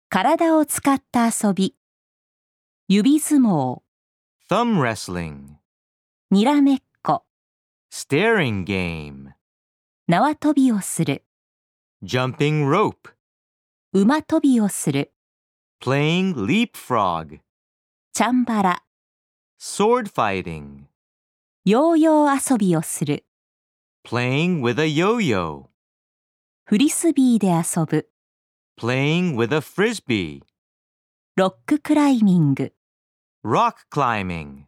体を使った遊び、指相撲、 thumb wrestling, にらめっこ、 staring game, 縄跳びをする、 jumping rope, 馬跳びをする、 playing leapfrog, チャンバラ、 sword fighting, ヨーヨー遊びをする、 playing with a yo-yo, フリスビーで遊ぶ、 playing with a frisbee, ロッククライミング。 rock climbing.